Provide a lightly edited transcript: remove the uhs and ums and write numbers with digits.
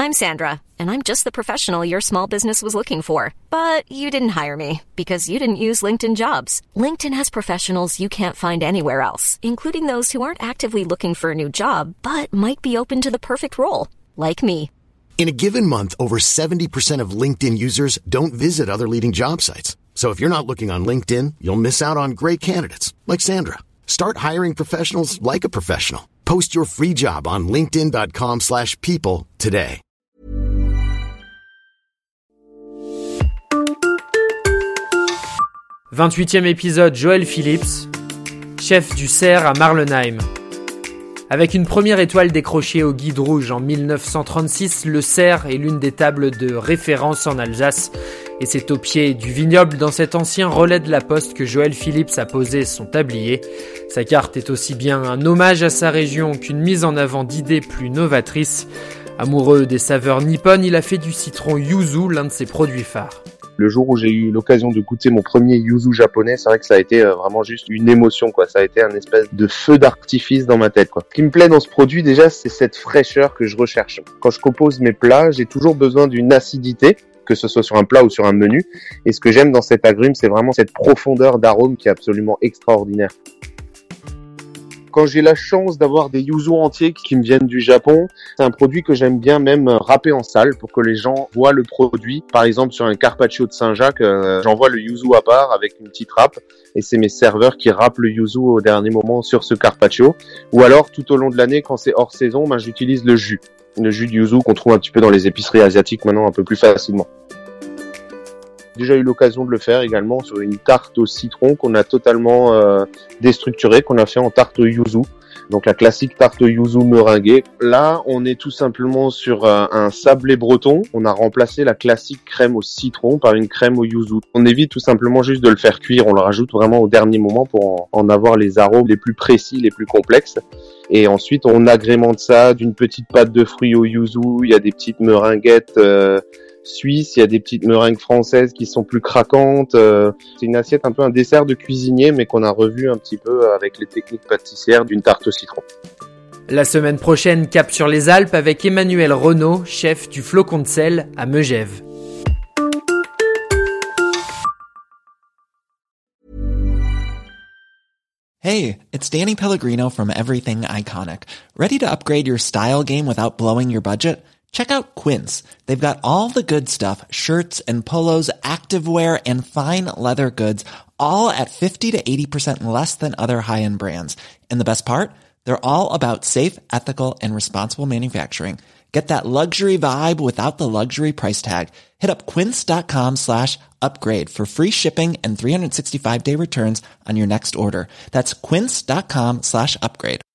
I'm Sandra, and I'm just the professional your small business was looking for. But you didn't hire me because you didn't use LinkedIn Jobs. LinkedIn has professionals you can't find anywhere else, including those who aren't actively looking for a new job, but might be open to the perfect role, like me. In a given month, over 70% of LinkedIn users don't visit other leading job sites. So if you're not looking on LinkedIn, you'll miss out on great candidates, like Sandra. Start hiring professionals like a professional. Post your free job on linkedin.com/people today. « 28e épisode, Joel Phillips, chef du Cerf à Marlenheim. Avec une première étoile décrochée au Guide Rouge en 1936, le Cerf est l'une des tables de référence en Alsace. Et c'est au pied du vignoble dans cet ancien relais de la poste que Joel Phillips a posé son tablier. Sa carte est aussi bien un hommage à sa région qu'une mise en avant d'idées plus novatrices. Amoureux des saveurs nippones, il a fait du citron yuzu l'un de ses produits phares. Le jour où j'ai eu l'occasion de goûter mon premier yuzu japonais, c'est vrai que ça a été vraiment juste une émotion, quoi. Ça a été un espèce de feu d'artifice dans ma tête, quoi. Ce qui me plaît dans ce produit, déjà, c'est cette fraîcheur que je recherche. Quand je compose mes plats, j'ai toujours besoin d'une acidité, que ce soit sur un plat ou sur un menu. Et ce que j'aime dans cet agrume, c'est vraiment cette profondeur d'arôme qui est absolument extraordinaire. Quand j'ai la chance d'avoir des yuzu entiers qui me viennent du Japon, c'est un produit que j'aime bien même râper en salle pour que les gens voient le produit. Par exemple, sur un carpaccio de Saint-Jacques, j'envoie le yuzu à part avec une petite râpe et c'est mes serveurs qui râpent le yuzu au dernier moment sur ce carpaccio. Ou alors, tout au long de l'année, quand c'est hors saison, j'utilise le jus de yuzu qu'on trouve un petit peu dans les épiceries asiatiques maintenant un peu plus facilement. J'ai déjà eu l'occasion de le faire également sur une tarte au citron qu'on a totalement déstructurée, qu'on a fait en tarte au yuzu. Donc la classique tarte au yuzu meringuée. Là, on est tout simplement sur un sablé breton. On a remplacé la classique crème au citron par une crème au yuzu. On évite tout simplement juste de le faire cuire. On le rajoute vraiment au dernier moment pour en avoir les arômes les plus précis, les plus complexes. Et ensuite, on agrémente ça d'une petite pâte de fruits au yuzu. Il y a des petites meringuettes suisses, il y a des petites meringues françaises qui sont plus craquantes. C'est une assiette un peu un dessert de cuisinier, mais qu'on a revu un petit peu avec les techniques pâtissières d'une tarte au citron. La semaine prochaine, cap sur les Alpes avec Emmanuel Renaud, chef du Flocon de sel à Megève. Hey, it's Danny Pellegrino from Everything Iconic. Ready to upgrade your style game without blowing your budget? Check out Quince. They've got all the good stuff, shirts and polos, activewear, and fine leather goods, all at 50 to 80% less than other high-end brands. And the best part? They're all about safe, ethical, and responsible manufacturing. Get that luxury vibe without the luxury price tag. Hit up quince.com/upgrade for free shipping and 365-day returns on your next order. That's quince.com/upgrade.